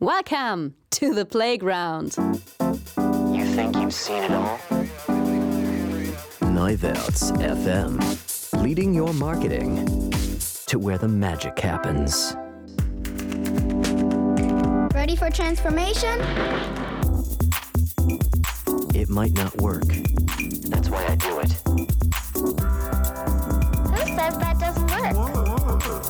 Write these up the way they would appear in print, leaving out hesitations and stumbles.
Welcome to the playground. You think you've seen it all? Neuwerts FM, leading your marketing to where the magic happens. Ready for transformation? It might not work. That's why I do it. Who says that doesn't work?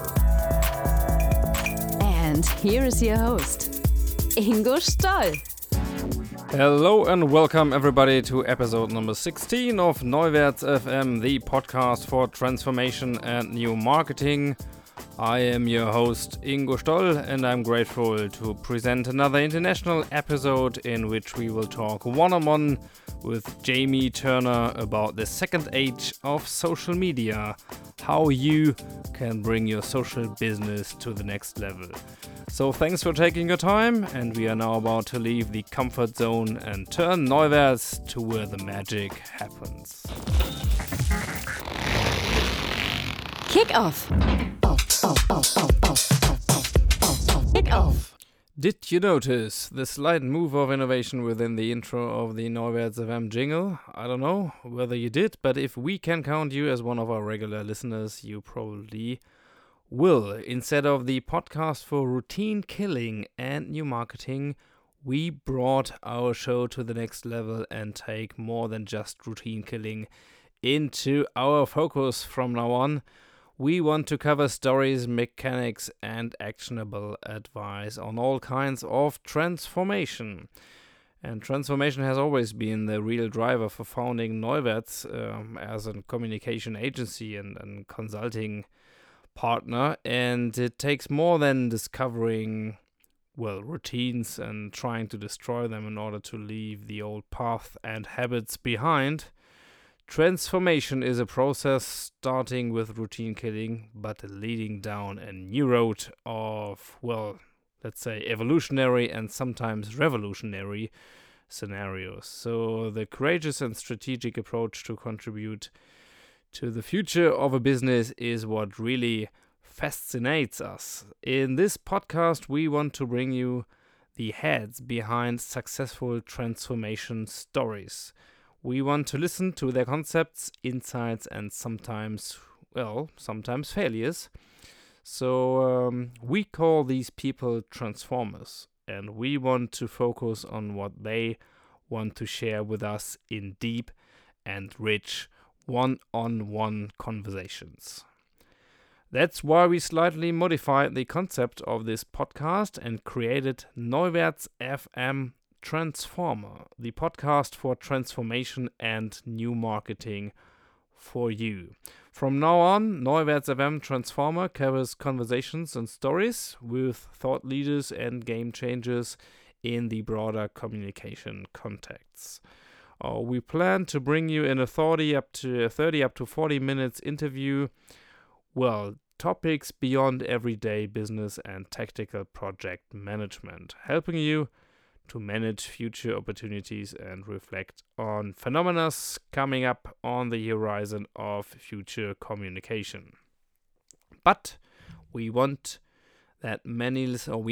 And here is your host, Ingo Stoll. Hello and welcome everybody to episode number 16 of Neuwerts FM, the podcast for transformation and new marketing. I am your host Ingo Stoll and I'm grateful to present another international episode in which we will talk one-on-one with Jamie Turner about the second age of social media, how you can bring your social business to the next level. So thanks for taking your time, and we are now about to leave the comfort zone and turn Neuwerts to where the magic happens. Kick off. Kick off. Did you notice the slight move of innovation within the intro of the Neuwerts FM jingle? I don't know whether you did, but if we can count you as one of our regular listeners, you probably will. Instead of the podcast for routine killing and new marketing, we brought our show to the next level and take more than just routine killing into our focus from now on. We want to cover stories, mechanics, and actionable advice on all kinds of transformation. And transformation has always been the real driver for founding Neuwerts as a communication agency and consulting partner. And it takes more than discovering, routines and trying to destroy them in order to leave the old path and habits behind. Transformation is a process starting with routine killing, but leading down a new road of, let's say, evolutionary and sometimes revolutionary scenarios. So the courageous and strategic approach to contribute to the future of a business is what really fascinates us. In this podcast, we want to bring you the heads behind successful transformation stories. We want to listen to their concepts, insights, and sometimes failures. So we call these people transformers, and we want to focus on what they want to share with us in deep and rich one-on-one conversations. That's why we slightly modified the concept of this podcast and created Neuwerts FM Transformer, the podcast for transformation and new marketing for you. From now on, Neuwerts FM Transformer covers conversations and stories with thought leaders and game changers in the broader communication contexts. We plan to bring you in a 30 up to 40 minutes interview, topics beyond everyday business and tactical project management, helping you to manage future opportunities and reflect on phenomena coming up on the horizon of future communication. But we know that many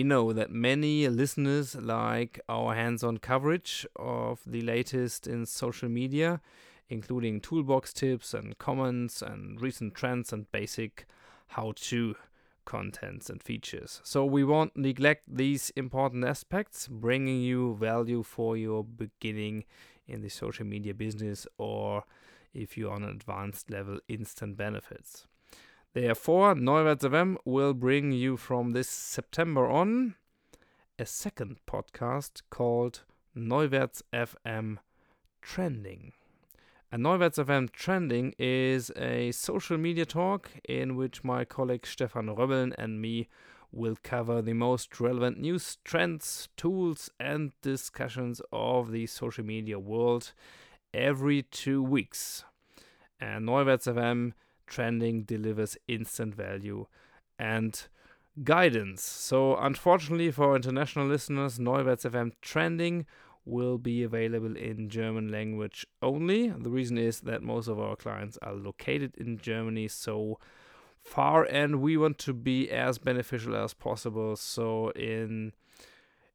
listeners like our hands-on coverage of the latest in social media, including toolbox tips and comments and recent trends and basic how-to contents and features. So we won't neglect these important aspects, bringing you value for your beginning in the social media business, or if you're on an advanced level, instant benefits. Therefore, Neuwerts FM will bring you from this September on a second podcast called Neuwerts FM Trending. And Neuwerts FM Trending is a social media talk in which my colleague Stefan Röbbeln and me will cover the most relevant news, trends, tools, and discussions of the social media world every 2 weeks. And Neuwerts FM Trending delivers instant value and guidance. So unfortunately for international listeners, Neuwerts FM Trending will be available in German language only. The reason is that most of our clients are located in Germany so far, and we want to be as beneficial as possible. So in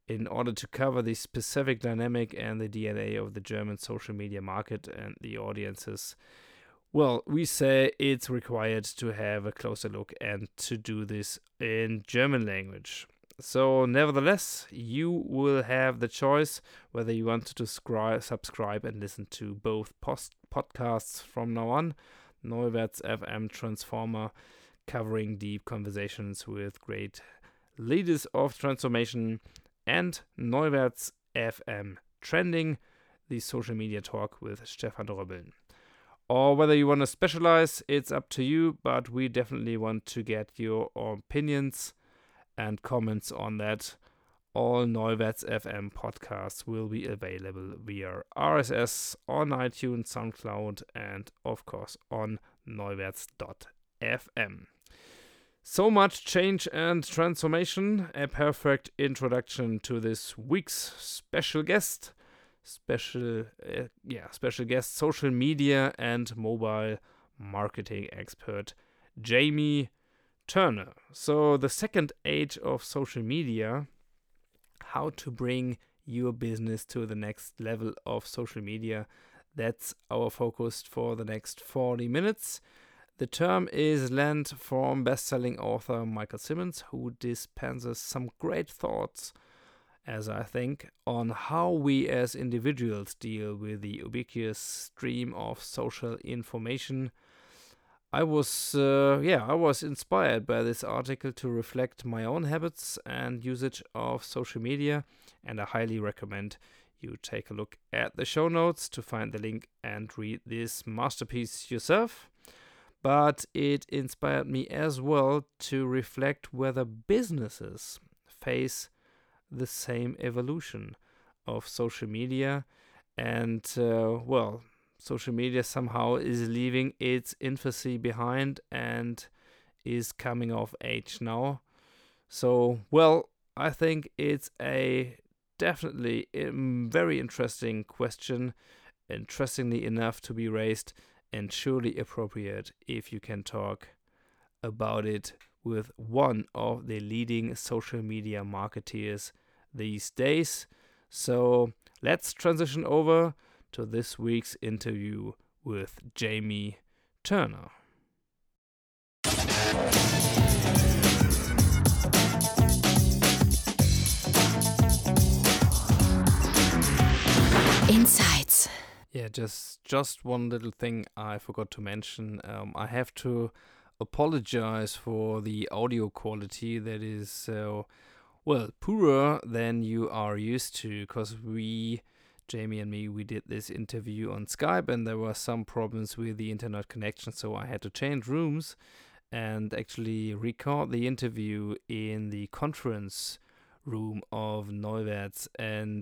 in order to cover the specific dynamic and the DNA of the German social media market and the audiences. Well, we say it's required to have a closer look and to do this in German language. So, nevertheless, you will have the choice whether you want to subscribe and listen to both podcasts from now on. Neuwerts FM Transformer, covering deep conversations with great leaders of transformation, and Neuwerts FM Trending, the social media talk with Stefan Dröbbeln. Or whether you want to specialize, it's up to you, but we definitely want to get your opinions and comments on that. All Neuwerts FM podcasts will be available via RSS on iTunes, SoundCloud, and of course on neuwerts.fm. So much change and transformation, a perfect introduction to this week's special guest. Special guest, social media and mobile marketing expert Jamie Turner. So the second age of social media, how to bring your business to the next level of social media. That's our focus for the next 40 minutes. The term is lent from best-selling author Michael Simmons, who dispenses some great thoughts, as I think, on how we as individuals deal with the ubiquitous stream of social information. I was inspired by this article to reflect my own habits and usage of social media, and I highly recommend you take a look at the show notes to find the link and read this masterpiece yourself. But it inspired me as well to reflect whether businesses face the same evolution of social media, and social media somehow is leaving its infancy behind and is coming of age now. So, I think it's definitely a very interesting question, interestingly enough to be raised, and surely appropriate if you can talk about it with one of the leading social media marketeers these days. So let's transition over to this week's interview with Jamie Turner. Insights. Yeah, just one little thing I forgot to mention. I have to apologize for the audio quality that is poorer than you are used to, because Jamie and me, we did this interview on Skype and there were some problems with the internet connection, so I had to change rooms and actually record the interview in the conference room of Neuwerts. And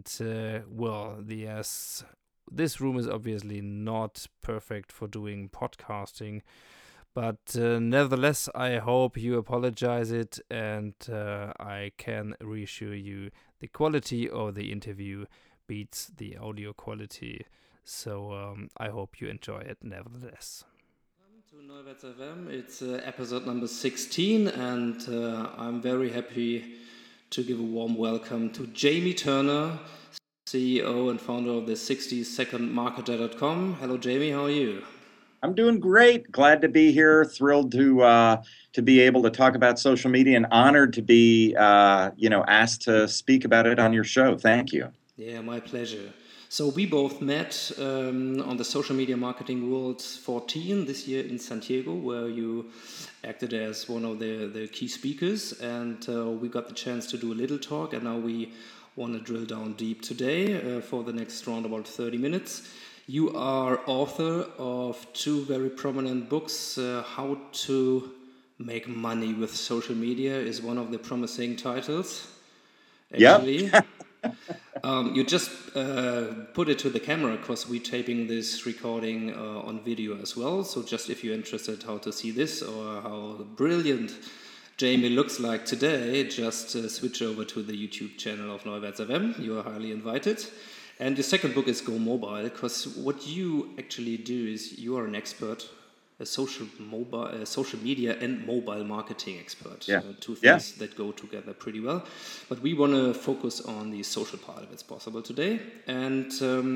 this room is obviously not perfect for doing podcasting, but nevertheless, I hope you apologize it, and I can reassure you the quality of the interview beats the audio quality. So I hope you enjoy it nevertheless. Welcome to Neuwerts FM. It's episode number 16, and I'm very happy to give a warm welcome to Jamie Turner, CEO and founder of the 60secondmarketer.com. Hello, Jamie. How are you? I'm doing great. Glad to be here. Thrilled to be able to talk about social media, and honored to be asked to speak about it on your show. Thank you. Yeah, my pleasure. So we both met on the Social Media Marketing Worlds 14 this year in San Diego, where you acted as one of the key speakers, and we got the chance to do a little talk, and now we want to drill down deep today for the next round about 30 minutes. You are author of two very prominent books. How to Make Money with Social Media is one of the promising titles, actually. Yep. You just put it to the camera, because we're taping this recording on video as well. So just if you're interested how to see this or how brilliant Jamie looks like today, just switch over to the YouTube channel of Neuwerts FM. You are highly invited. And the second book is Go Mobile, because what you actually do is you are an expert a social media and mobile marketing expert. Yeah. Two things that go together pretty well. But we want to focus on the social part if it's possible today. And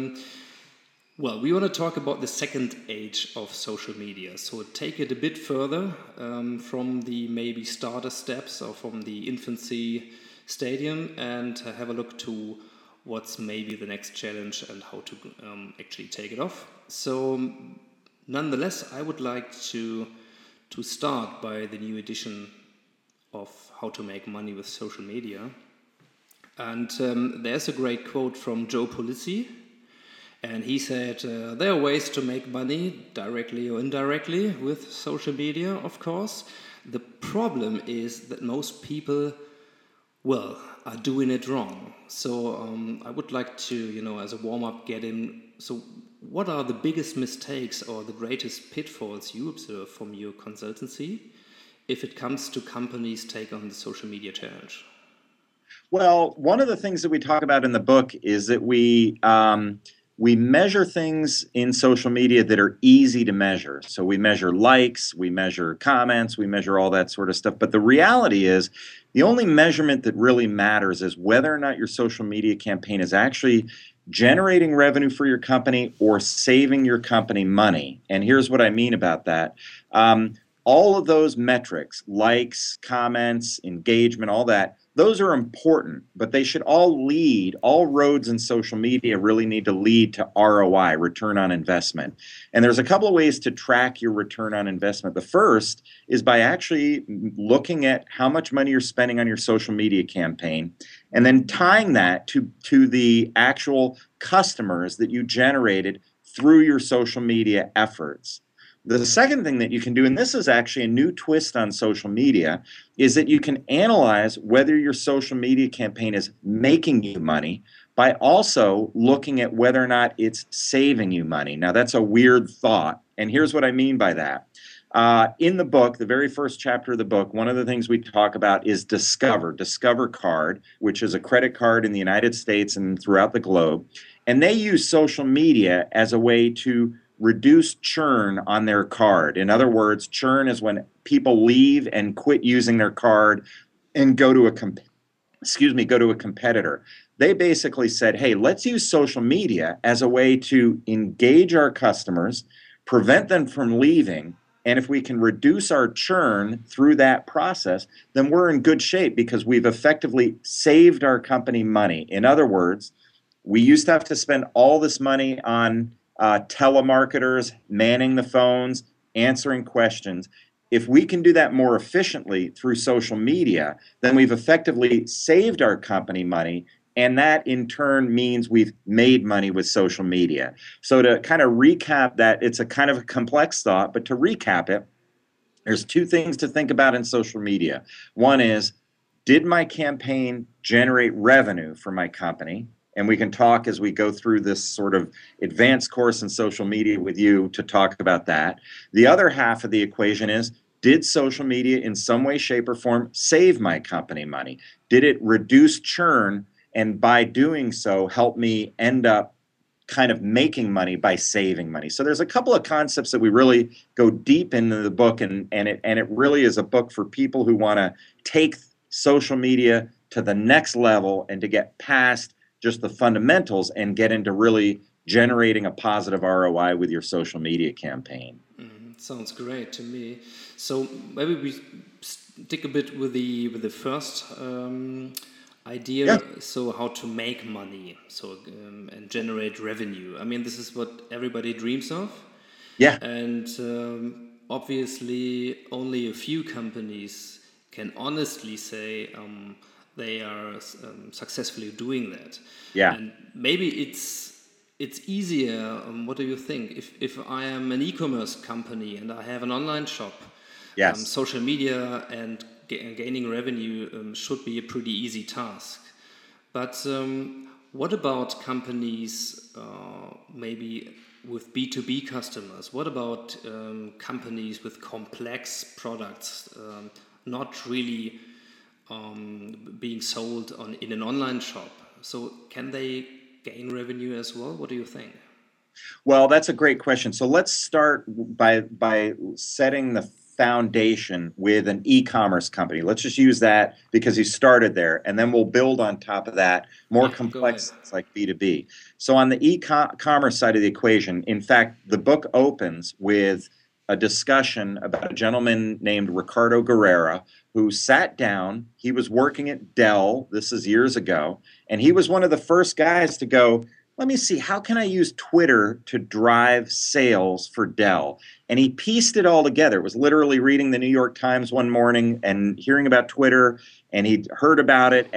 well, we want to talk about the second age of social media. So take it a bit further from the maybe starter steps or from the infancy stadium and have a look to what's maybe the next challenge and how to actually take it off. So nonetheless, I would like to start by the new edition of How to Make Money with Social Media. And there's a great quote from Joe Pulizzi. And he said, there are ways to make money, directly or indirectly, with social media, of course. The problem is that most people, well, are doing it wrong. So I would like to, as a warm-up, get in. So what are the biggest mistakes or the greatest pitfalls you observe from your consultancy if it comes to companies take on the social media challenge? Well, one of the things that we talk about in the book is that we measure things in social media that are easy to measure. So we measure likes, we measure comments, we measure all that sort of stuff. But the reality is the only measurement that really matters is whether or not your social media campaign is actually generating revenue for your company or saving your company money. And here's what I mean about that. All of those metrics, likes, comments, engagement, all that, those are important, but they should all roads in social media really need to lead to ROI, return on investment. And there's a couple of ways to track your return on investment. The first is by actually looking at how much money you're spending on your social media campaign and then tying that to the actual customers that you generated through your social media efforts. The second thing that you can do, and this is actually a new twist on social media, is that you can analyze whether your social media campaign is making you money by also looking at whether or not it's saving you money. Now, that's a weird thought, and here's what I mean by that. In the book, the very first chapter of the book, one of the things we talk about is Discover Card, which is a credit card in the United States and throughout the globe. And they use social media as a way to reduce churn on their card. In other words, churn is when people leave and quit using their card and go to a competitor. They basically said, hey, let's use social media as a way to engage our customers, prevent them from leaving, and if we can reduce our churn through that process, then we're in good shape because we've effectively saved our company money. In other words, we used to have to spend all this money on telemarketers, manning the phones, answering questions. If we can do that more efficiently through social media, then we've effectively saved our company money, and that in turn means we've made money with social media. So to kind of recap that, it's a kind of a complex thought, but to recap it, there's two things to think about in social media. One is, did my campaign generate revenue for my company? And we can talk as we go through this sort of advanced course in social media with you to talk about that. The other half of the equation is, did social media in some way, shape, or form save my company money? Did it reduce churn? And by doing so, help me end up kind of making money by saving money. So there's a couple of concepts that we really go deep into the book, and it really is a book for people who want to take social media to the next level and to get past just the fundamentals and get into really generating a positive ROI with your social media campaign. Sounds great to me. So maybe we stick a bit with the first idea. Yeah. So how to make money, and generate revenue. I mean, this is what everybody dreams of. Yeah. And obviously, only a few companies can honestly say they are successfully doing that. Yeah. And maybe it's easier. What do you think? If I am an e-commerce company and I have an online shop, yes, social media and gaining revenue should be a pretty easy task. But what about companies maybe with B2B customers? What about companies with complex products, not really being sold in an online shop? So can they gain revenue as well? What do you think? Well, that's a great question. So let's start by setting the foundation with an e-commerce company. Let's just use that because you started there, and then we'll build on top of that more complex things like B2B. So on the e-commerce side of the equation, in fact, the book opens with a discussion about a gentleman named Ricardo Guerrera who sat down. He was working at Dell. This is years ago. And he was one of the first guys to go, let me see, how can I use Twitter to drive sales for Dell? And he pieced it all together. It was literally reading the New York Times one morning and hearing about Twitter, and he'd heard about it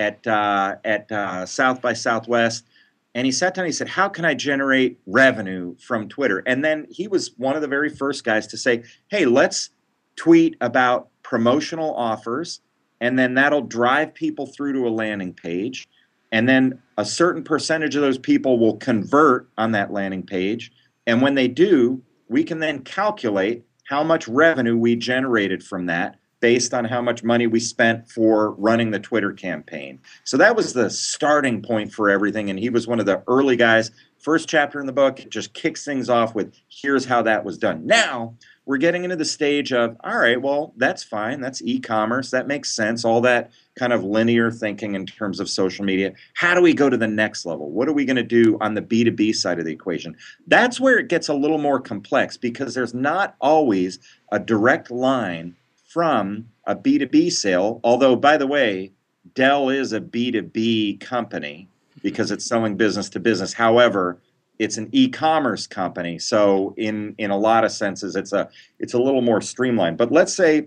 at South by Southwest. And he sat down and he said, how can I generate revenue from Twitter? And then he was one of the very first guys to say, hey, let's tweet about promotional offers, and then that'll drive people through to a landing page. And then a certain percentage of those people will convert on that landing page. And when they do, we can then calculate how much revenue we generated from that based on how much money we spent for running the Twitter campaign. So that was the starting point for everything. And he was one of the early guys. First chapter in the book, it just kicks things off with, here's how that was done. Now, we're getting into the stage of, all right, well, that's fine. That's e-commerce. That makes sense. All that kind of linear thinking in terms of social media. How do we go to the next level? What are we going to do on the B2B side of the equation? That's where it gets a little more complex because there's not always a direct line from a B2B sale. Although, by the way, Dell is a B2B company because it's selling business to business. However, it's an e-commerce company, so in a lot of senses, it's a little more streamlined. But let's say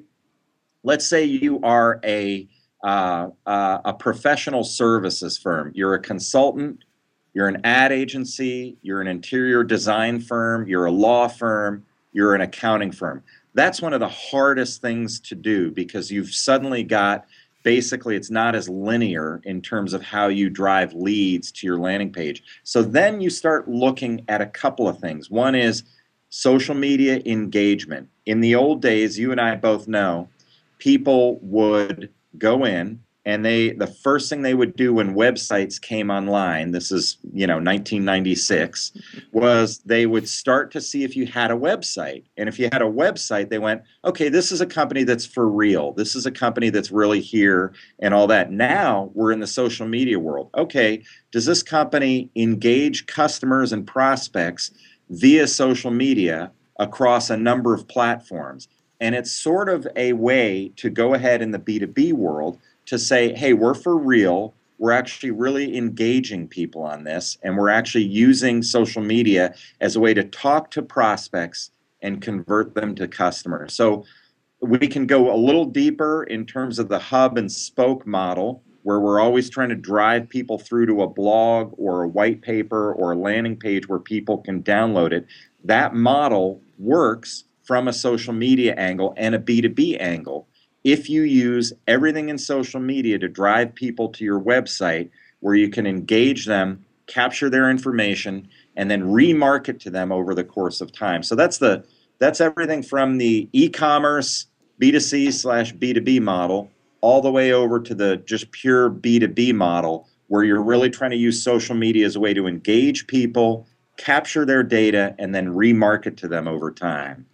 you are a professional services firm. You're a consultant. You're an ad agency. You're an interior design firm. You're a law firm. You're an accounting firm. That's one of the hardest things to do because you've suddenly got. Basically, it's not as linear in terms of how you drive leads to your landing page. So then you start looking at a couple of things. One is social media engagement. In the old days, you and I both know, people would go in and the first thing they would do when websites came online, this is 1996, was they would start to see if you had a website. And if you had a website, they went, okay, this is a company that's for real. This is a company that's really here and all that. Now we're in the social media world. Okay, does this company engage customers and prospects via social media across a number of platforms? And it's sort of a way to go ahead in the B2B world to say, hey, we're for real. We're actually really engaging people on this, and we're actually using social media as a way to talk to prospects and convert them to customers. So we can go a little deeper in terms of the hub and spoke model, where we're always trying to drive people through to a blog or a white paper or a landing page where people can download it. That model works from a social media angle and a B2B angle. If you use everything in social media to drive people to your website where you can engage them, capture their information, and then remarket to them over the course of time. So that's everything from the e-commerce B2C/B2B model all the way over to the just pure B2B model where you're really trying to use social media as a way to engage people, capture their data, and then remarket to them over time.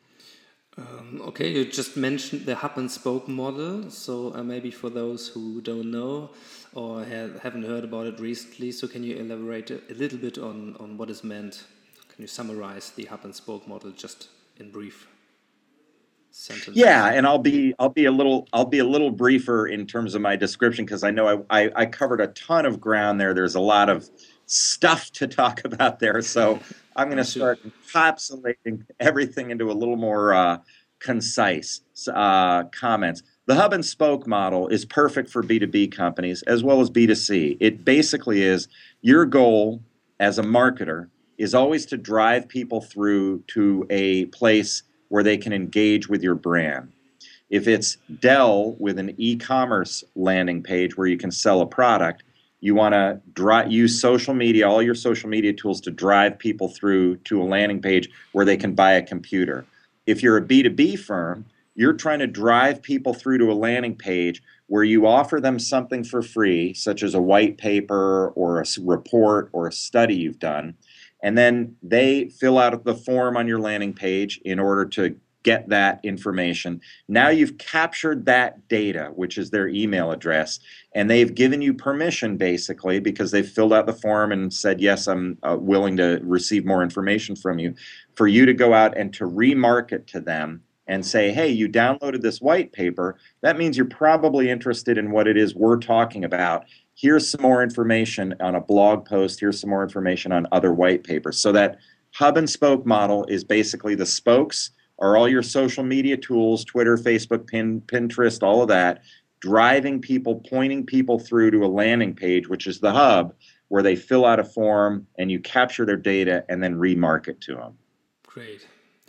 Okay, you just mentioned the hub and spoke model. So maybe for those who don't know or haven't heard about it recently, so can you elaborate a little bit on what is meant? Can you summarize the hub and spoke model just in brief sentences? Yeah, and I'll be a little briefer in terms of my description because I know I covered a ton of ground there. There's a lot of stuff to talk about there, so I'm going to start encapsulating everything into a little more concise comments. The hub and spoke model is perfect for B2B companies as well as B2C. It basically is your goal as a marketer is always to drive people through to a place where they can engage with your brand. If it's Dell with an e-commerce landing page where you can sell a product, you want to use social media, all your social media tools to drive people through to a landing page where they can buy a computer. If you're a B2B firm, you're trying to drive people through to a landing page where you offer them something for free, such as a white paper or a report or a study you've done, and then they fill out the form on your landing page in order to get that information. Now you've captured that data, which is their email address, and they've given you permission, basically, because they've filled out the form and said, yes, I'm willing to receive more information from you, for you to go out and to remarket to them and say, hey, you downloaded this white paper. That means you're probably interested in what it is we're talking about. Here's some more information on a blog post. Here's some more information on other white papers. So that hub and spoke model is basically the spokes are all your social media tools, Twitter, Facebook, Pinterest, all of that, driving people, pointing people through to a landing page, which is the hub, where they fill out a form and you capture their data and then remarket to them. Great.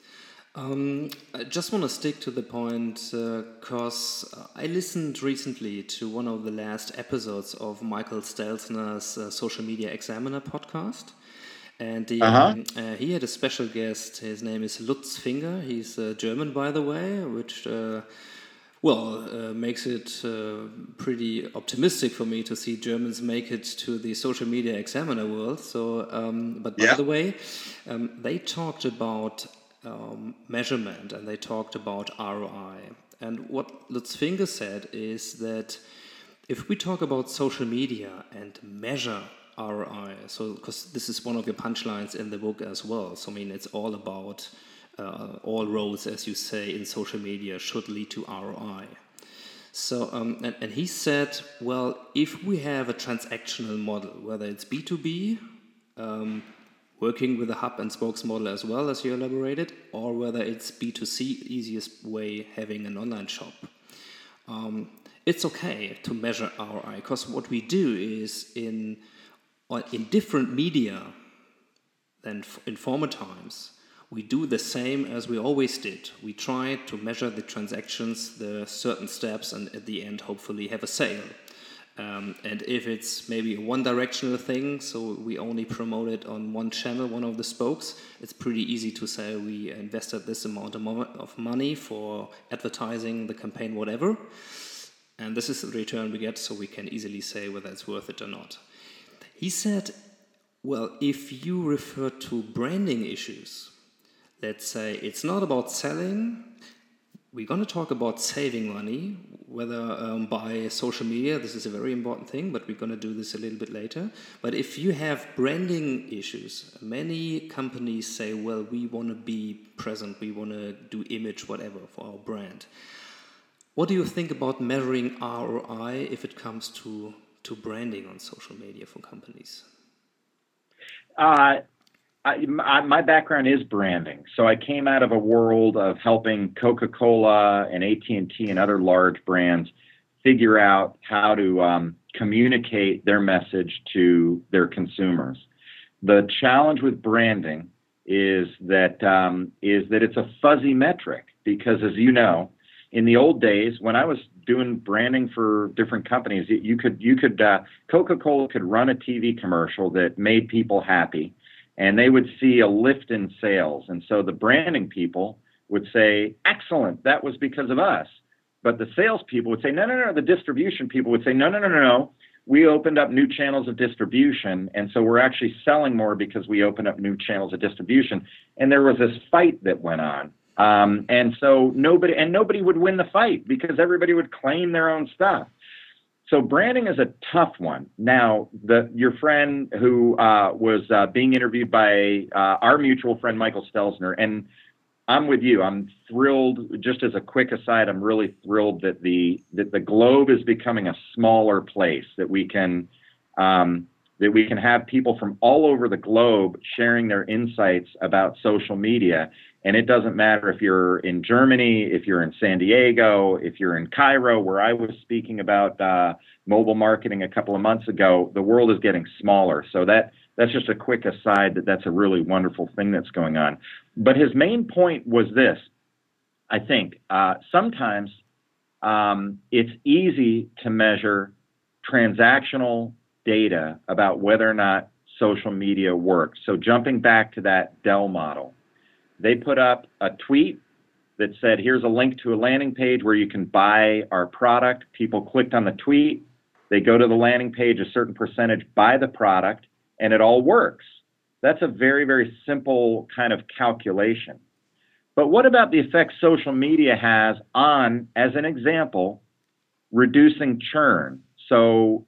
I just want to stick to the point because I listened recently to one of the last episodes of Michael Stelzner's Social Media Examiner podcast. And he had a special guest. His name is Lutz Finger. He's German, by the way, which makes it pretty optimistic for me to see Germans make it to the Social Media Examiner world. So, by the way, they talked about measurement and they talked about ROI. And what Lutz Finger said is that if we talk about social media and measure ROI, so because this is one of your punchlines in the book as well. So I mean, it's all about all roads, as you say, in social media should lead to ROI. So and he said, well, if we have a transactional model, whether it's B2B, working with a hub and spokes model as well as you elaborated, or whether it's B2C, easiest way, having an online shop. It's okay to measure ROI because what we do is in different media than in former times, we do the same as we always did. We try to measure the transactions, the certain steps, and at the end, hopefully, have a sale. And if it's maybe a one-directional thing, so we only promote it on one channel, one of the spokes, it's pretty easy to say we invested this amount of money for advertising the campaign, whatever. And this is the return we get, so we can easily say whether it's worth it or not. He said, well, if you refer to branding issues, let's say it's not about selling, we're going to talk about saving money, whether by social media, this is a very important thing, but we're going to do this a little bit later. But if you have branding issues, many companies say, well, we want to be present, we want to do image, whatever, for our brand. What do you think about measuring ROI if it comes to branding on social media for companies? My background is branding. So I came out of a world of helping Coca-Cola and AT&T and other large brands figure out how to communicate their message to their consumers. The challenge with branding is that it's a fuzzy metric because, as you know, in the old days, when I was doing branding for different companies, Coca-Cola could run a TV commercial that made people happy, and they would see a lift in sales. And so the branding people would say, excellent, that was because of us. But the salespeople would say, no. The distribution people would say, no. We opened up new channels of distribution, and so we're actually selling more because we opened up new channels of distribution. And there was this fight that went on. And so nobody would win the fight because everybody would claim their own stuff. So branding is a tough one. Now, your friend who was being interviewed by our mutual friend, Michael Stelzner, and I'm with you. I'm thrilled. Just as a quick aside, I'm really thrilled that the globe is becoming a smaller place, that we can have people from all over the globe sharing their insights about social media. And it doesn't matter if you're in Germany, if you're in San Diego, if you're in Cairo, where I was speaking about mobile marketing a couple of months ago. The world is getting smaller. So that's just a quick aside that's a really wonderful thing that's going on. But his main point was this. I think sometimes it's easy to measure transactional data about whether or not social media works. So jumping back to that Dell model, they put up a tweet that said, here's a link to a landing page where you can buy our product. People clicked on the tweet. They go to the landing page, a certain percentage buy the product, and it all works. That's a very, very simple kind of calculation. But what about the effect social media has on, as an example, reducing churn? So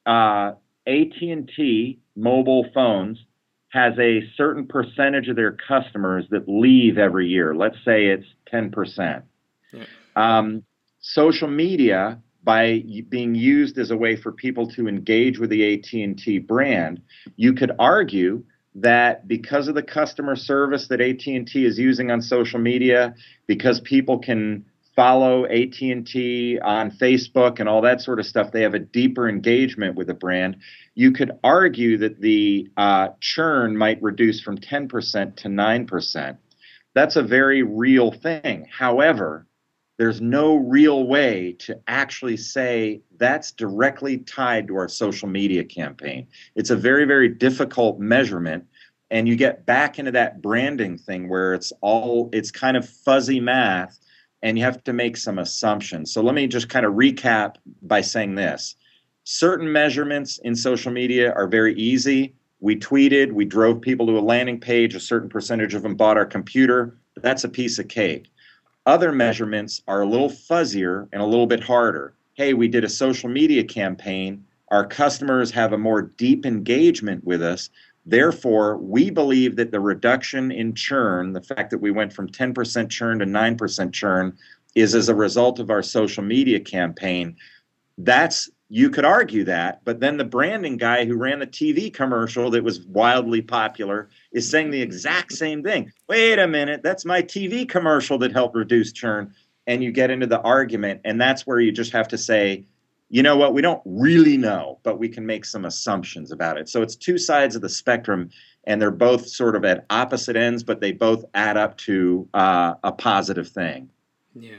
AT&T mobile phones has a certain percentage of their customers that leave every year. Let's say it's 10%. Yeah. Social media, by being used as a way for people to engage with the AT&T brand, you could argue that because of the customer service that AT&T is using on social media, because people can follow AT&T on Facebook and all that sort of stuff, they have a deeper engagement with the brand. You could argue that the churn might reduce from 10% to 9%. That's a very real thing. However, there's no real way to actually say that's directly tied to our social media campaign. It's a very, very difficult measurement. And you get back into that branding thing where it's kind of fuzzy math, and you have to make some assumptions. So let me just kind of recap by saying this. Certain measurements in social media are very easy. We tweeted, we drove people to a landing page, a certain percentage of them bought our computer. That's a piece of cake. Other measurements are a little fuzzier and a little bit harder. Hey, we did a social media campaign. Our customers have a more deep engagement with us. Therefore, we believe that the reduction in churn, the fact that we went from 10% churn to 9% churn, is as a result of our social media campaign. You could argue that, but then the branding guy who ran the TV commercial that was wildly popular is saying the exact same thing. Wait a minute, that's my TV commercial that helped reduce churn. And you get into the argument, and that's where you just have to say, you know what, we don't really know, but we can make some assumptions about it. So it's two sides of the spectrum, and they're both sort of at opposite ends, but they both add up to a positive thing. Yeah.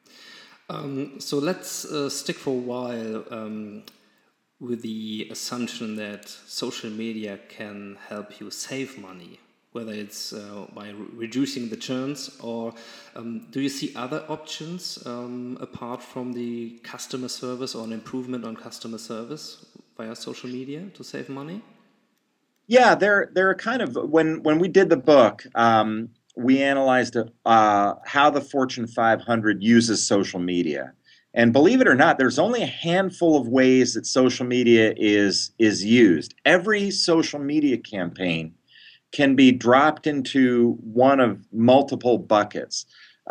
So let's stick for a while with the assumption that social media can help you save money, whether it's by reducing the churns, or do you see other options apart from the customer service or an improvement on customer service via social media to save money? Yeah, they're kind of, when we did the book, we analyzed how the Fortune 500 uses social media. And believe it or not, there's only a handful of ways that social media is used. Every social media campaign can be dropped into one of multiple buckets.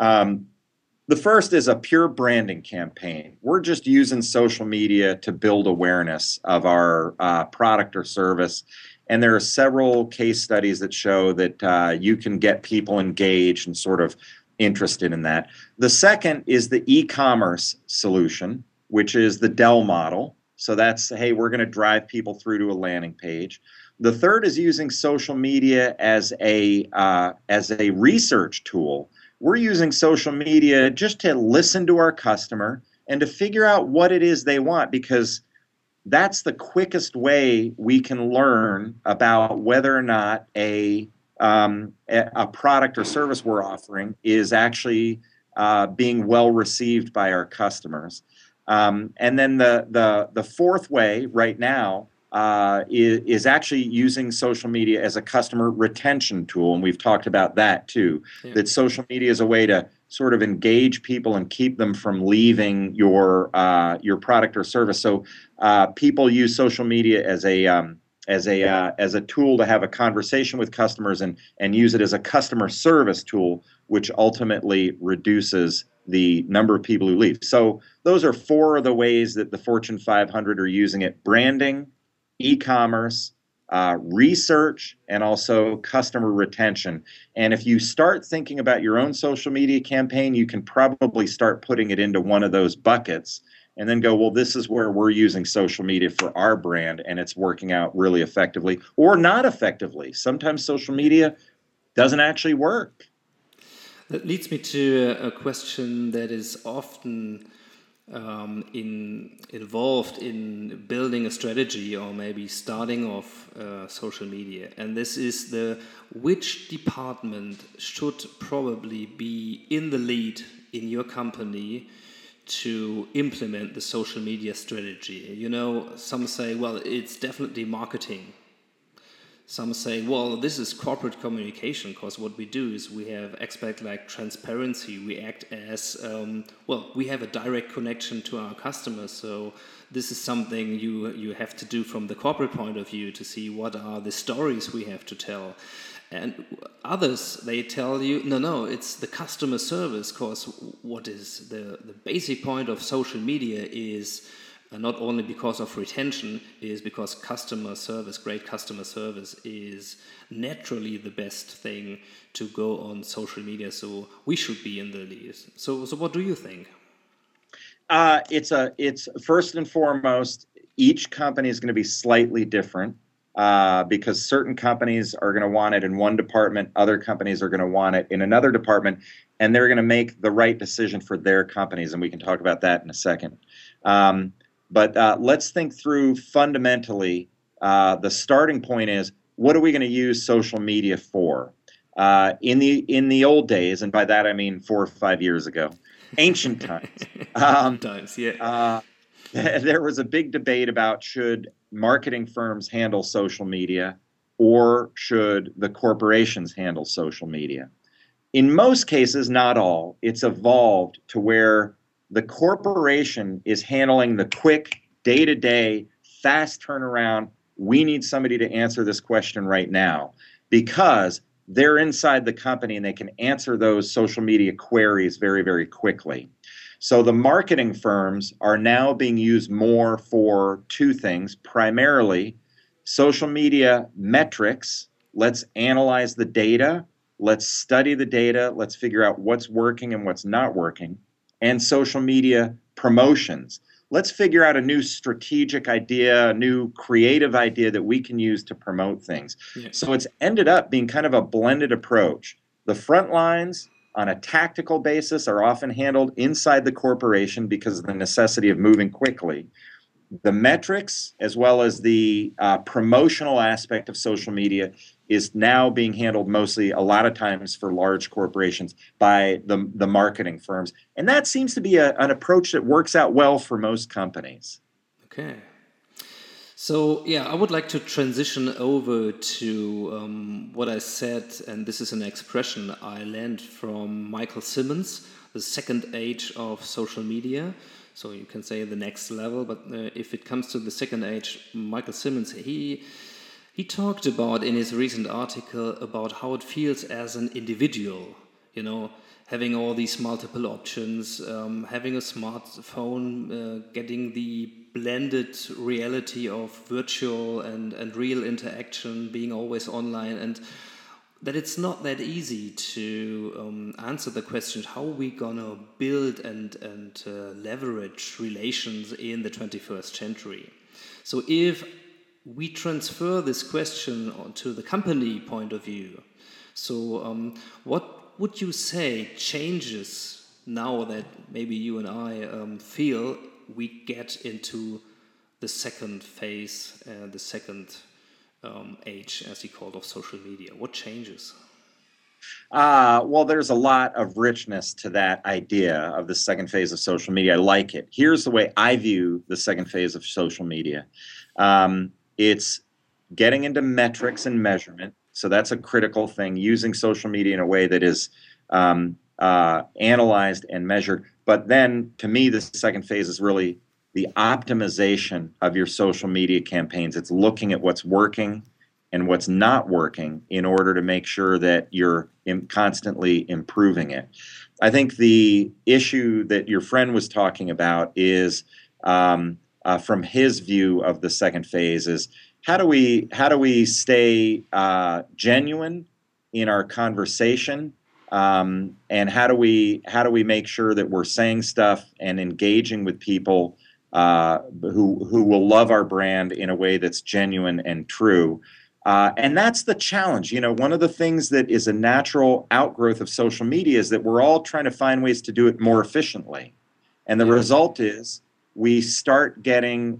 The first is a pure branding campaign. We're just using social media to build awareness of our product or service. And there are several case studies that show that you can get people engaged and sort of interested in that. The second is the e-commerce solution, which is the Dell model. So that's, hey, we're going to drive people through to a landing page. The third is using social media as a research tool. We're using social media just to listen to our customer and to figure out what it is they want, because that's the quickest way we can learn about whether or not a product or service we're offering is actually being well received by our customers. And then the fourth way right now is actually using social media as a customer retention tool, and we've talked about that too. Yeah. That social media is a way to sort of engage people and keep them from leaving your product or service. So people use social media as a tool to have a conversation with customers and use it as a customer service tool, which ultimately reduces the number of people who leave. So those are four of the ways that the Fortune 500 are using it: branding, e-commerce, research, and also customer retention. And if you start thinking about your own social media campaign, you can probably start putting it into one of those buckets and then go, well, this is where we're using social media for our brand, and it's working out really effectively or not effectively. Sometimes social media doesn't actually work. That leads me to a question that is often involved in building a strategy or maybe starting off social media, and this is which department should probably be in the lead in your company to implement the social media strategy. You know, some say, well, it's definitely marketing. some say, well, this is corporate communication, because what we do is we expect like transparency. We act as, we have a direct connection to our customers. So this is something you have to do from the corporate point of view to see what are the stories we have to tell. And others, they tell you, no, it's the customer service, because what is the basic point of social media is not only because of retention, is because customer service, great customer service is naturally the best thing to go on social media. So we should be in the lead. So what do you think? It's first and foremost, each company is going to be slightly different. Because certain companies are going to want it in one department, other companies are going to want it in another department, and they're going to make the right decision for their companies, and we can talk about that in a second. But let's think through fundamentally, the starting point is, what are we going to use social media for? In the old days, and by that I mean 4 or 5 years ago, ancient times, there was a big debate about should marketing firms handle social media or should the corporations handle social media. In most cases, not all, it's evolved to where the corporation is handling the quick, day-to-day, fast turnaround. We need somebody to answer this question right now, because they're inside the company and they can answer those social media queries very, very quickly. So the marketing firms are now being used more for two things, primarily social media metrics. Let's analyze the data. Let's study the data. Let's figure out what's working and what's not working. And social media promotions. Let's figure out a new strategic idea, a new creative idea that we can use to promote things. Yeah. So it's ended up being kind of a blended approach. The front lines on a tactical basis are often handled inside the corporation because of the necessity of moving quickly. The metrics, as well as the promotional aspect of social media, is now being handled mostly, a lot of times for large corporations, by the marketing firms. And that seems to be an approach that works out well for most companies. Okay. So, I would like to transition over to what I said, and this is an expression I learned from Michael Simmons, the second age of social media. So you can say the next level, but if it comes to the second age, Michael Simmons, he talked about in his recent article about how it feels as an individual, having all these multiple options, having a smartphone, getting the blended reality of virtual and real interaction, being always online, and that it's not that easy to answer the question, how are we gonna build and leverage relations in the 21st century? So if we transfer this question to the company point of view, so what would you say changes now that maybe you and I feel we get into the second phase, the second age, as he called, of social media? What changes? Well, there's a lot of richness to that idea of the second phase of social media. I like it. Here's the way I view the second phase of social media. It's getting into metrics and measurement. So that's a critical thing, using social media in a way that is analyzed and measured. But then, to me, the second phase is really the optimization of your social media campaigns. It's looking at what's working and what's not working in order to make sure that you're constantly improving it. I think the issue that your friend was talking about is, from his view of the second phase, is how do we stay genuine in our conversation, and how do we make sure that we're saying stuff and engaging with people who will love our brand in a way that's genuine and true. And that's the challenge. One of the things that is a natural outgrowth of social media is that we're all trying to find ways to do it more efficiently. And the result is we start turning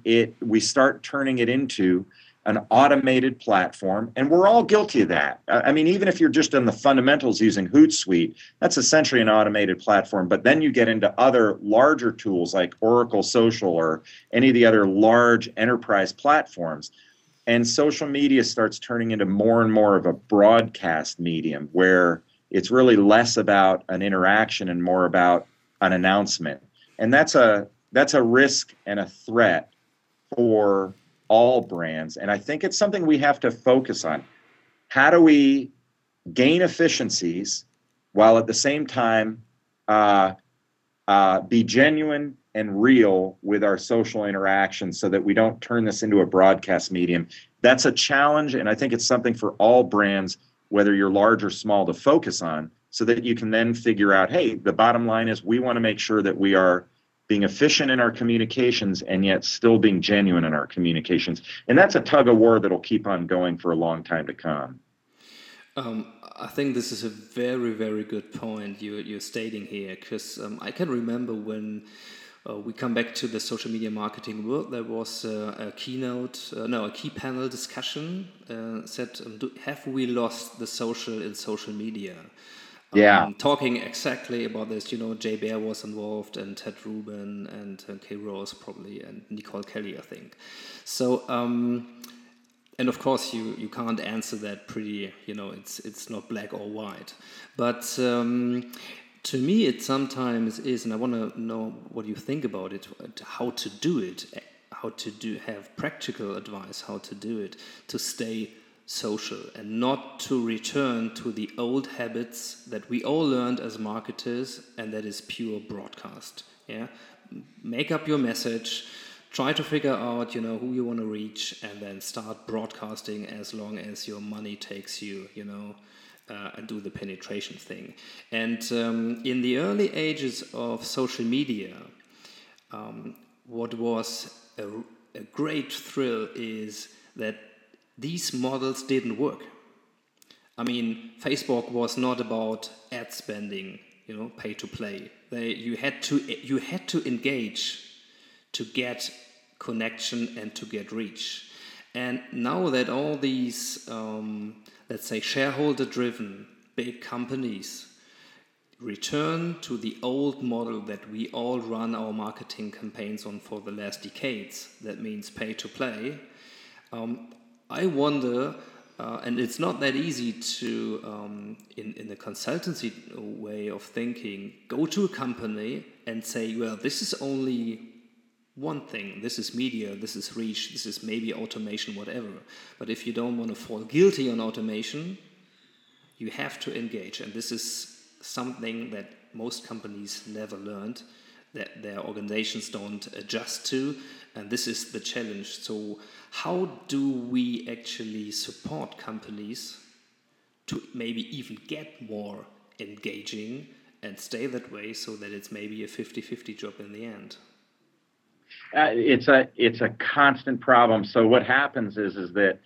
it into an automated platform, and we're all guilty of that. I mean, even if you're just in the fundamentals using Hootsuite, that's essentially an automated platform. But then you get into other larger tools like Oracle Social or any of the other large enterprise platforms. and social media starts turning into more and more of a broadcast medium where it's really less about an interaction and more about an announcement. And that's a risk and a threat for all brands. And I think it's something we have to focus on. How do we gain efficiencies while at the same time be genuine and real with our social interactions so that we don't turn this into a broadcast medium? That's a challenge, and I think it's something for all brands, whether you're large or small, to focus on, so that you can then figure out, hey, the bottom line is we want to make sure that we are being efficient in our communications and yet still being genuine in our communications. And that's a tug of war that'll keep on going for a long time to come. I think this is a very, very good point you're stating here, because I can remember when we come back to the social media marketing world, there was a key panel discussion said, have we lost the social in social media? Yeah. Talking exactly about this, Jay Baer was involved, and Ted Rubin, and Kay Rose probably, and Nicole Kelly, I think. So, and of course, you can't answer that pretty, it's not black or white. But to me, it sometimes is, and I want to know what you think about it, how to do it, have practical advice, how to do it, to stay social and not to return to the old habits that we all learned as marketers, and that is pure broadcast. Yeah, make up your message, try to figure out who you want to reach, and then start broadcasting as long as your money takes you, and do the penetration thing. And in the early ages of social media, what was a great thrill is that these models didn't work. I mean, Facebook was not about ad spending, pay to play. You had to engage to get connection and to get reach. And now that all these, let's say, shareholder-driven big companies return to the old model that we all run our marketing campaigns on for the last decades, that means pay to play, I wonder, and it's not that easy to, in the consultancy way of thinking, go to a company and say, well, this is only one thing. This is media, this is reach, this is maybe automation, whatever. But if you don't want to fall guilty on automation, you have to engage. And this is something that most companies never learned, that their organizations don't adjust to. And this is the challenge. So how do we actually support companies to maybe even get more engaging and stay that way, so that it's maybe a 50-50 job in the end? It's a constant problem. So what happens is that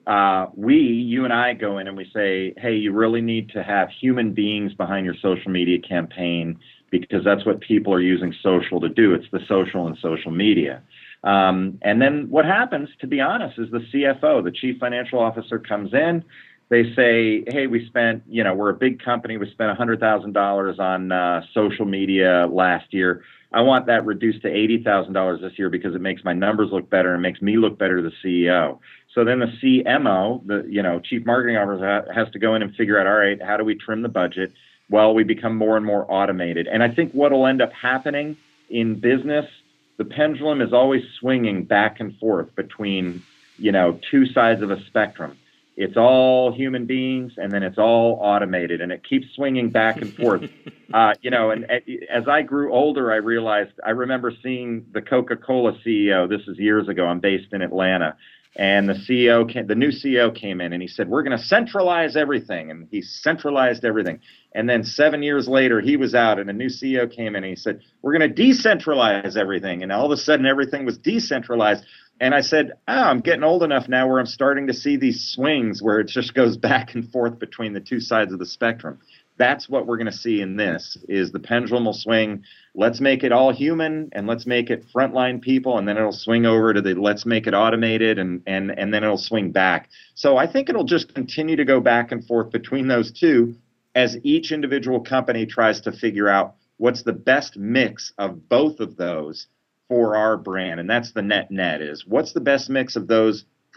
you and I go in and we say, hey, you really need to have human beings behind your social media campaign, because that's what people are using social to do. It's the social and social media. And then what happens, to be honest, is the CFO, the chief financial officer, comes in. They say, hey, we're a big company. We spent $100,000 on social media last year. I want that reduced to $80,000 this year because it makes my numbers look better and makes me look better to the CEO. So then the CMO, the chief marketing officer, has to go in and figure out, all right, how do we trim the budget? Well, we become more and more automated. And I think what will end up happening in business, the pendulum is always swinging back and forth between, two sides of a spectrum. It's all human beings, and then it's all automated, and it keeps swinging back and forth. And as I grew older, I remember seeing the Coca-Cola CEO. This is years ago. I'm based in Atlanta. And the new CEO came in and he said, we're going to centralize everything. And he centralized everything. And then 7 years later, he was out and a new CEO came in and he said, we're going to decentralize everything. And all of a sudden, everything was decentralized. And I said, I'm getting old enough now where I'm starting to see these swings where it just goes back and forth between the two sides of the spectrum. That's what we're going to see in this, is the pendulum will swing. Let's make it all human, and let's make it frontline people, and then it'll swing over to the let's make it automated, and then it'll swing back. So I think it'll just continue to go back and forth between those two as each individual company tries to figure out what's the best mix of both of those for our brand. And that's the net is, what's the best mix of those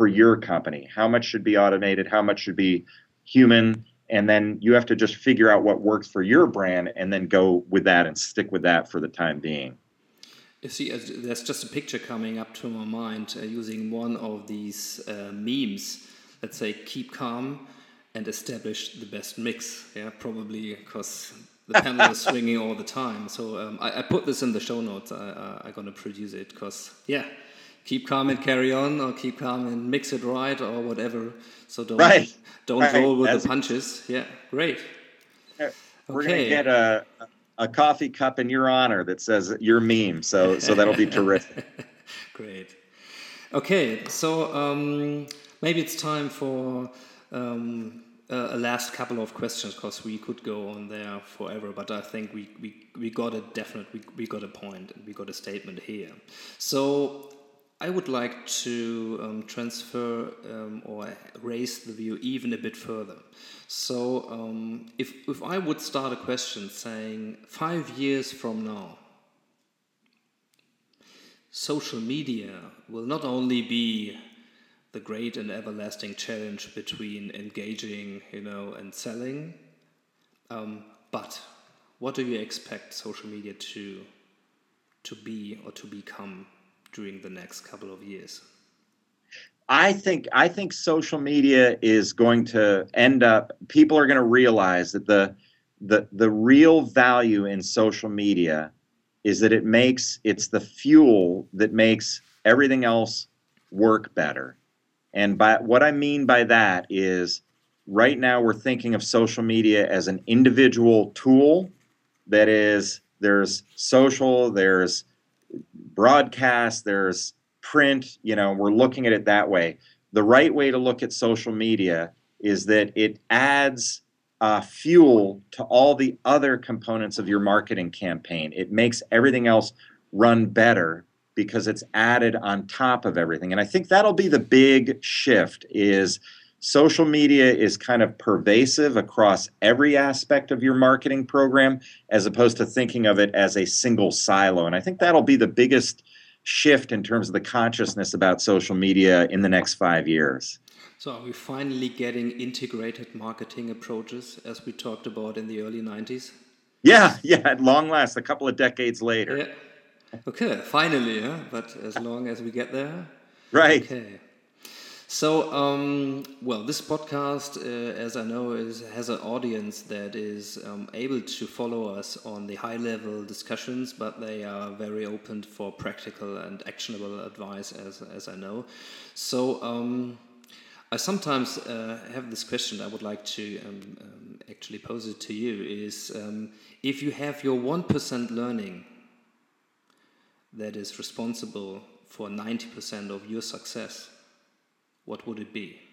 for your company? How much should be automated? How much should be human? And then you have to just figure out what works for your brand and then go with that and stick with that for the time being. You see, there's just a picture coming up to my mind using one of these memes. Let's say, keep calm and establish the best mix. Yeah, probably because the pendulum is swinging all the time. So I put this in the show notes. I'm going to produce it because, yeah, keep calm and carry on, or keep calm and mix it right, or whatever. So don't roll with the punches. Yeah, great. We're going to get a coffee cup in your honor that says your meme. So that'll be terrific. Great. Okay, so maybe it's time for a last couple of questions, because we could go on there forever, but I think we got a we got a point and we got a statement here. So I would like to transfer or raise the view even a bit further. So if I would start a question saying 5 years from now, social media will not only be the great and everlasting challenge between engaging, and selling, but what do you expect social media to be or to become during the next couple of years? I think social media is going to end up, people are going to realize that the real value in social media is that it's the fuel that makes everything else work better. And what I mean by that is, right now we're thinking of social media as an individual tool. That is, there's social, there's broadcast, there's print, we're looking at it that way. The right way to look at social media is that it adds fuel to all the other components of your marketing campaign. It makes everything else run better because it's added on top of everything. And I think that'll be the big shift, is social media is kind of pervasive across every aspect of your marketing program, as opposed to thinking of it as a single silo. And I think that'll be the biggest shift in terms of the consciousness about social media in the next 5 years. So are we finally getting integrated marketing approaches, as we talked about in the early 90s? Yeah, at long last, a couple of decades later. Yeah. Okay, finally, but as long as we get there. Right. Okay. So, this podcast, as I know, has an audience that is able to follow us on the high-level discussions, but they are very open for practical and actionable advice, as I know. So, I sometimes have this question I would like to actually pose it to you, is if you have your 1% learning that is responsible for 90% of your success, what would it be?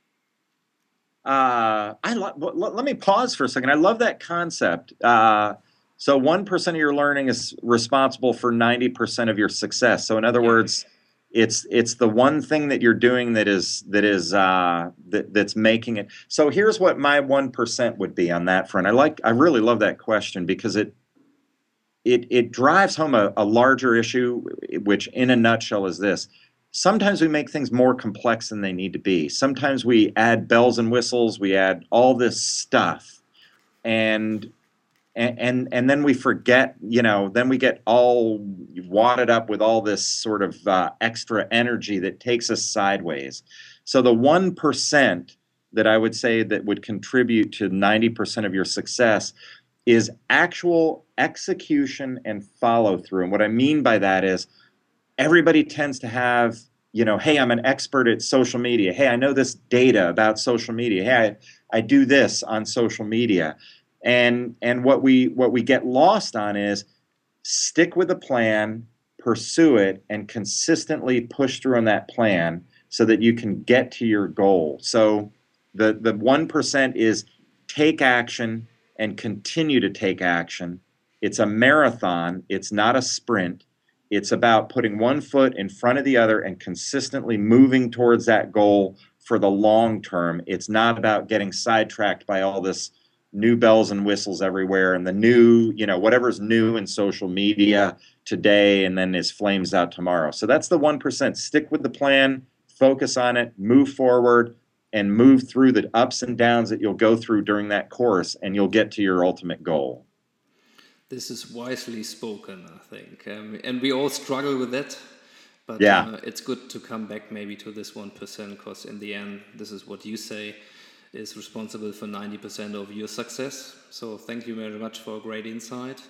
Let me pause for a second. I love that concept. So 1% of your learning is responsible for 90% of your success. So in other words, it's the one thing that you're doing that's making it. So here's what my 1% would be on that front. I really love that question, because it drives home a larger issue, which in a nutshell is this. Sometimes we make things more complex than they need to be. Sometimes we add bells and whistles, we add all this stuff, and then we forget, then we get all wadded up with all this sort of extra energy that takes us sideways. So the 1% that I would say that would contribute to 90% of your success is actual execution and follow through. And what I mean by that is, everybody tends to have, hey, I'm an expert at social media. Hey, I know this data about social media. Hey, I do this on social media. And what we get lost on is stick with the plan, pursue it, and consistently push through on that plan so that you can get to your goal. So the 1% is take action and continue to take action. It's a marathon. It's not a sprint. It's about putting one foot in front of the other and consistently moving towards that goal for the long term. It's not about getting sidetracked by all this new bells and whistles everywhere and the new, whatever's new in social media today and then is flames out tomorrow. So that's the 1%. Stick with the plan, focus on it, move forward, and move through the ups and downs that you'll go through during that course, and you'll get to your ultimate goal. This is wisely spoken, I think. And we all struggle with that. But it's good to come back maybe to this 1%, because in the end, this is what you say is responsible for 90% of your success. So thank you very much for a great insight.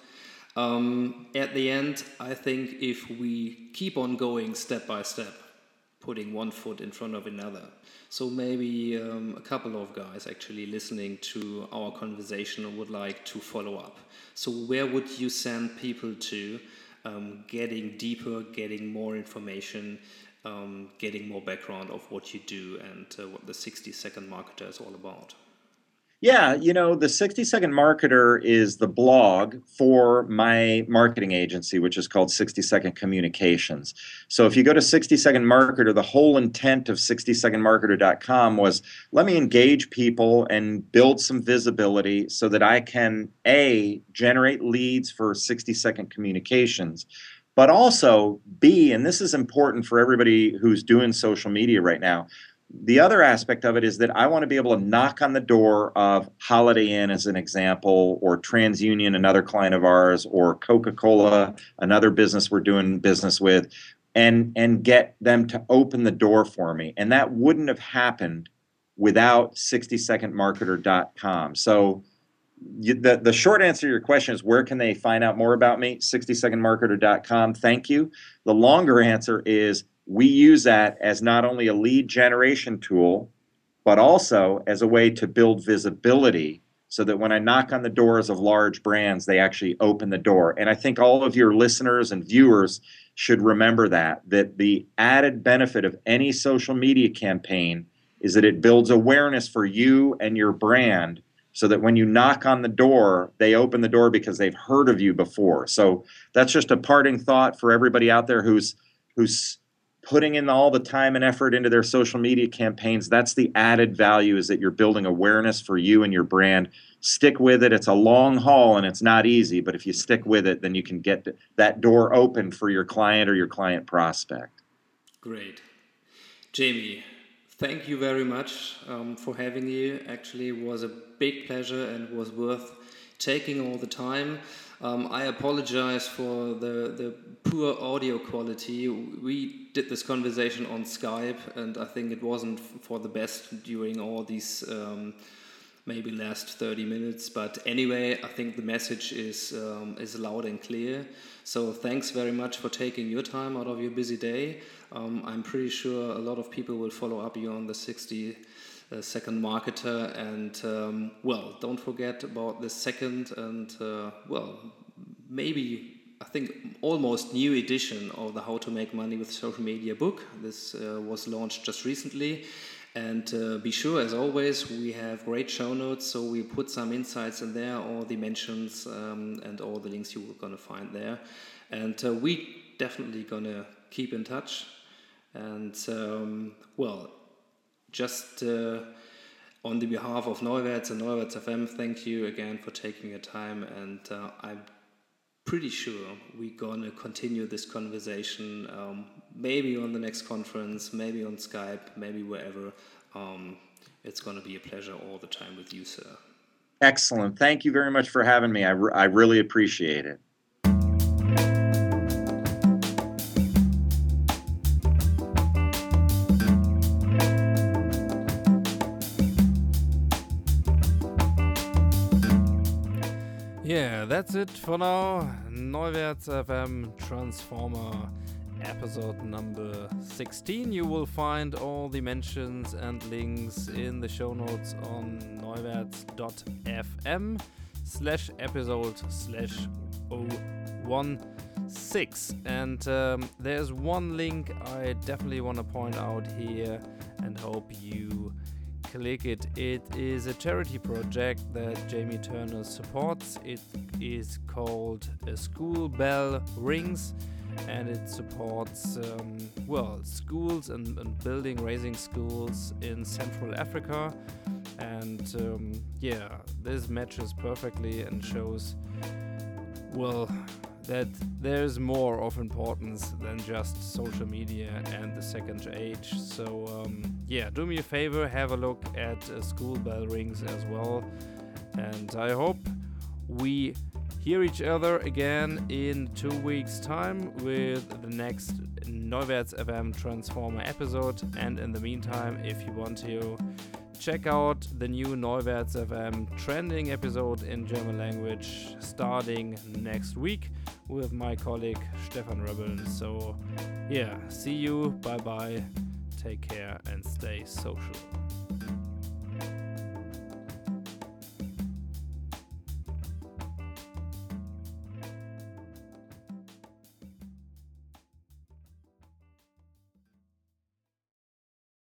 At the end, I think if we keep on going step by step, putting one foot in front of another, so maybe a couple of guys actually listening to our conversation would like to follow up. So where would you send people to, getting deeper, getting more information, getting more background of what you do and what the 60-Second Marketer is all about? Yeah, the 60-Second Marketer is the blog for my marketing agency, which is called 60-Second Communications. So if you go to 60-Second Marketer, the whole intent of 60secondmarketer.com was, let me engage people and build some visibility so that I can, A, generate leads for 60-Second Communications, but also, B, and this is important for everybody who's doing social media right now, the other aspect of it is that I want to be able to knock on the door of Holiday Inn, as an example, or TransUnion, another client of ours, or Coca-Cola, another business we're doing business with, and get them to open the door for me. And that wouldn't have happened without 60secondmarketer.com. So the short answer to your question is, where can they find out more about me? 60secondmarketer.com. Thank you. The longer answer is, we use that as not only a lead generation tool, but also as a way to build visibility so that when I knock on the doors of large brands, they actually open the door. And I think all of your listeners and viewers should remember that the added benefit of any social media campaign is that it builds awareness for you and your brand so that when you knock on the door, they open the door because they've heard of you before. So that's just a parting thought for everybody out there who's putting in all the time and effort into their social media campaigns. That's the added value, is that you're building awareness for you and your brand. Stick with it. It's a long haul and it's not easy, but if you stick with it, then you can get that door open for your client or your client prospect. Great. Jamie, thank you very much for having you. Actually, it was a big pleasure and was worth taking all the time. I apologize for the poor audio quality. We did this conversation on Skype, and I think it wasn't for the best during all these maybe last 30 minutes. But anyway, I think the message is loud and clear. So thanks very much for taking your time out of your busy day. I'm pretty sure a lot of people will follow up you on the 60-Second Marketer, and don't forget about the second and maybe I think almost new edition of the How to Make Money with Social Media book. This was launched just recently, and be sure, as always, we have great show notes, so we put some insights in there, all the mentions and all the links you're going to find there, and we definitely going to keep in touch. And just on the behalf of Neuwerts and Neuwerts FM, thank you again for taking your time, and I'm pretty sure we're going to continue this conversation, maybe on the next conference, maybe on Skype, maybe wherever. It's going to be a pleasure all the time with you, sir. Excellent. Thank you very much for having me. I really appreciate it. Yeah, that's it for now. Neuwerts FM Transformer episode number 16. You will find all the mentions and links in the show notes on neuwerts.fm/episode/016. And there's one link I definitely want to point out here and hope you click it. It is a charity project that Jamie Turner supports. It is called School Bell Rings, and it supports schools and raising schools in Central Africa. And this matches perfectly and shows that there's more of importance than just social media and the second age. So do me a favor, have a look at School Bell Rings as well. And I hope we hear each other again in 2 weeks' time with the next Neuwerts FM Transformer episode. And in the meantime, if you want to, check out the new Neuwerts FM trending episode in German language starting next week with my colleague Stefan Rebeln. So see you, bye bye, take care and stay social.